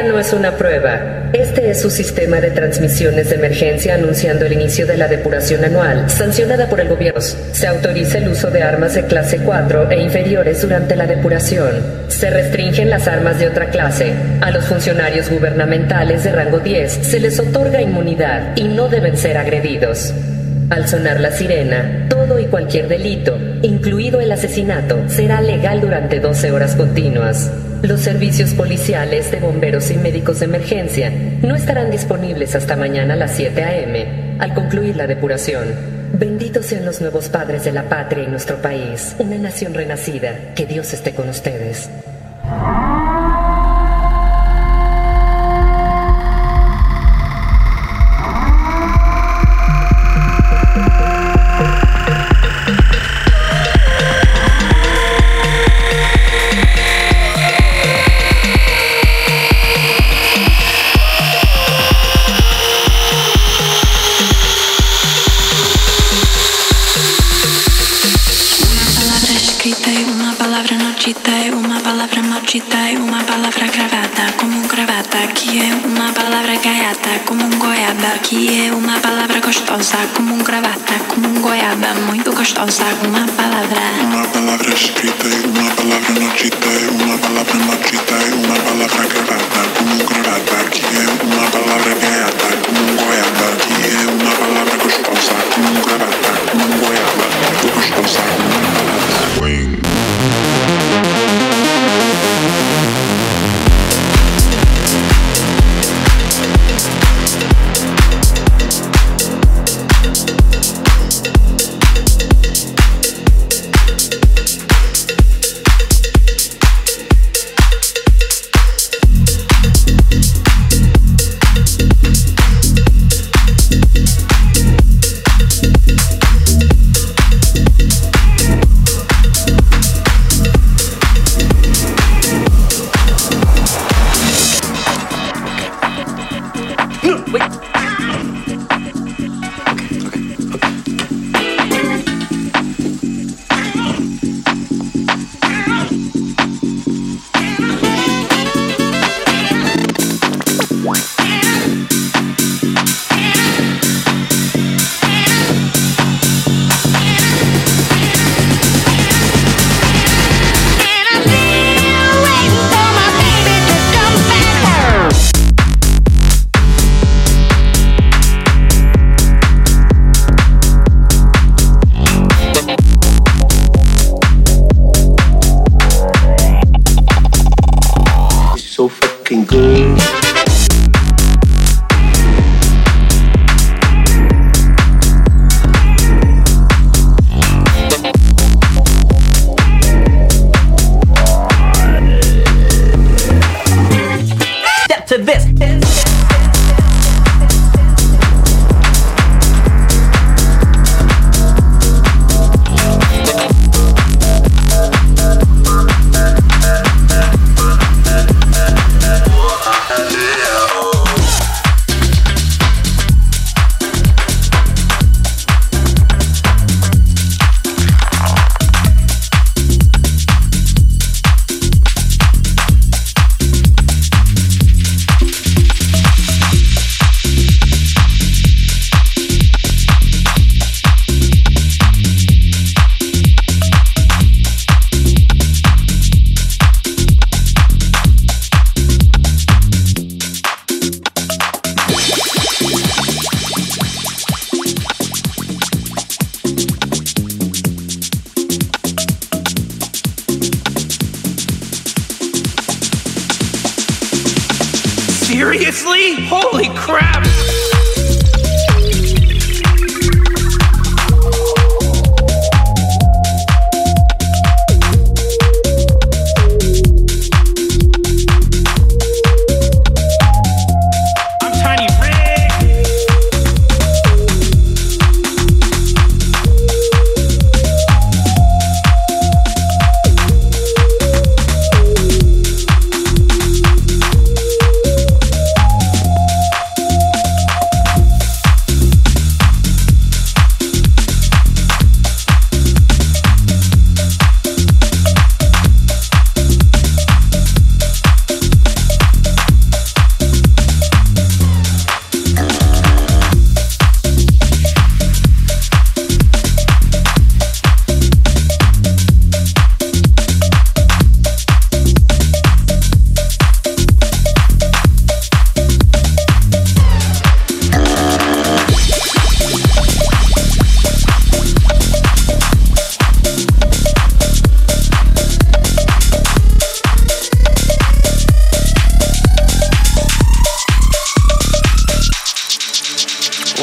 no es una prueba. Este es su sistema de transmisiones de emergencia anunciando el inicio de la depuración anual, sancionada por el gobierno. Se autoriza el uso de armas de clase 4 e inferiores durante la depuración. Se restringen las armas de otra clase. A los funcionarios gubernamentales de rango 10 se les otorga inmunidad y no deben ser agredidos. Al sonar la sirena, todo y cualquier delito, incluido el asesinato, será legal durante 12 horas continuas. Los servicios policiales, de bomberos y médicos de emergencia no estarán disponibles hasta mañana a las 7 a.m. al concluir la depuración. Benditos sean los nuevos padres de la patria y nuestro país, una nación renacida. Que Dios esté con ustedes. Uma palavra cravada como gravata, que é uma palavra gaiata como goiaba, que é uma palavra gostosa como gravata, como goiaba, muito gostosa, uma palavra escrita e uma palavra não dita, uma palavra não dita, uma palavra gravada como gravata, que é uma palavra gaiata como goiaba, que é uma palavra gostosa como gravata, como goiaba, muito gostosa, uma palavra swing. Seriously? Holy crap!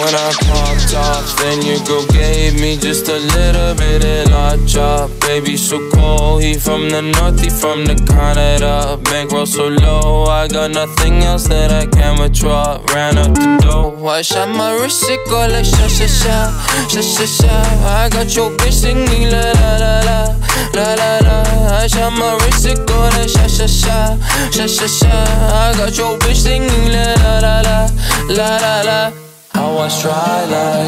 When I popped off, then your girl gave me just a little bit of la chop. Baby, so cold, he from the north, he from the Canada. Bankroll so low, I got nothing else that I can withdraw. Ran up the dough, I shot my wrist, it go like sha sha sha, sha sha sha. I got your bitch singing la la la la, la la la. I shot my wrist, it go like sha sha sha, sha sha sha. I got your bitch singing la la la la, la la la. I was dry like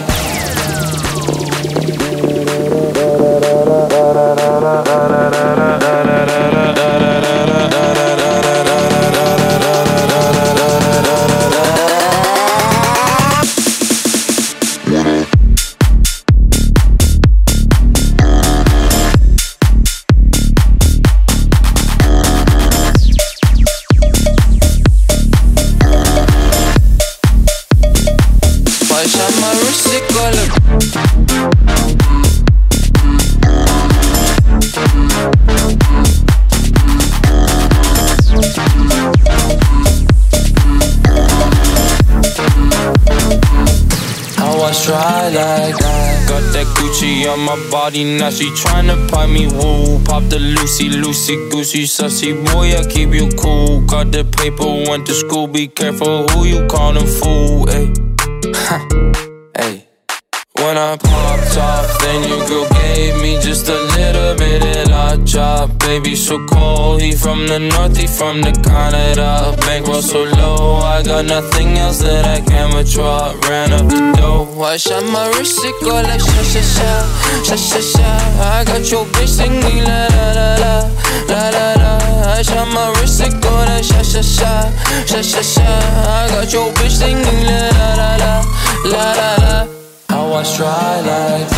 on my body, now she tryna pipe me, woo. Pop the Lucy, Goosey, sussy boy, I keep you cool. Got the paper, went to school, be careful who you callin' fool, ayy. Ayy. When I popped off, then your girl gave me just a little bit of la chop. Baby, so cold, he from the north, he from the Canada. Bankroll so low, I got nothing else that I can withdraw. Ran up the dough, I shot my wrist, it go like sha sha sha, sha sha sha. I got your bitch singing la la la la, la la la. I shot my wrist, it go like sha sha sha, sha sha sha. I got your bitch singing la la la la, la la la. I was dry like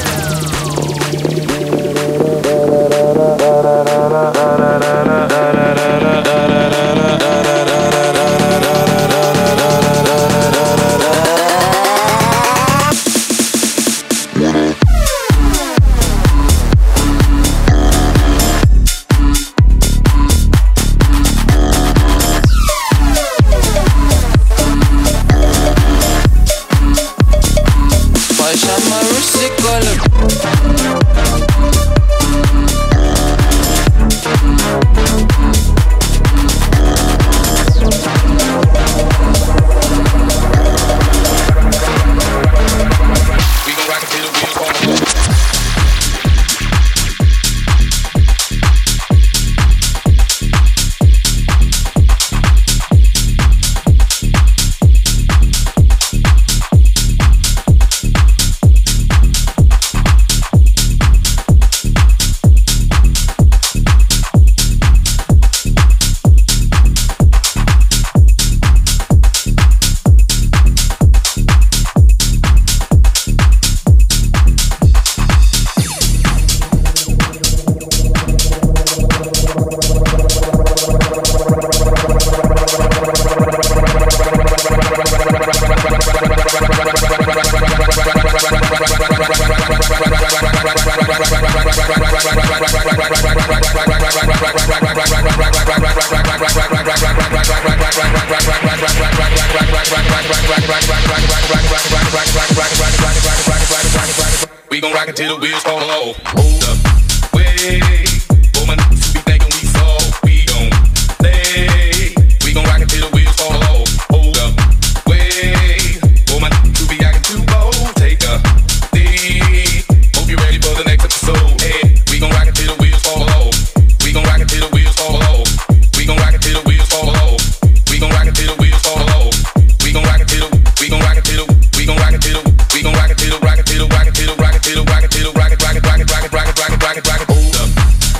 we gon' rock it till the wheels fall off. Hold up, wait, woman, be thinking we soft. We gon' lay, we gon' rock it till the wheels fall off. Hold up, wait, woman, you be acting too bold. Take a lead, hope you're ready for the next episode. Hey, we gon' rock it till the wheels fall off. We gon' rock it till the wheels fall off. We gon' rock it till the wheels fall off. We gon' rock it till the wheels fall off. We gon' rock it till the, we gon' rock it till the, we gon' rock it till the, we gon' rock it till the, rock it till the, rock it till the, rock it till the, rock it till the, rock it, rock it, rock it, rock it, rock it, rock it, rock it, rock it, hold up.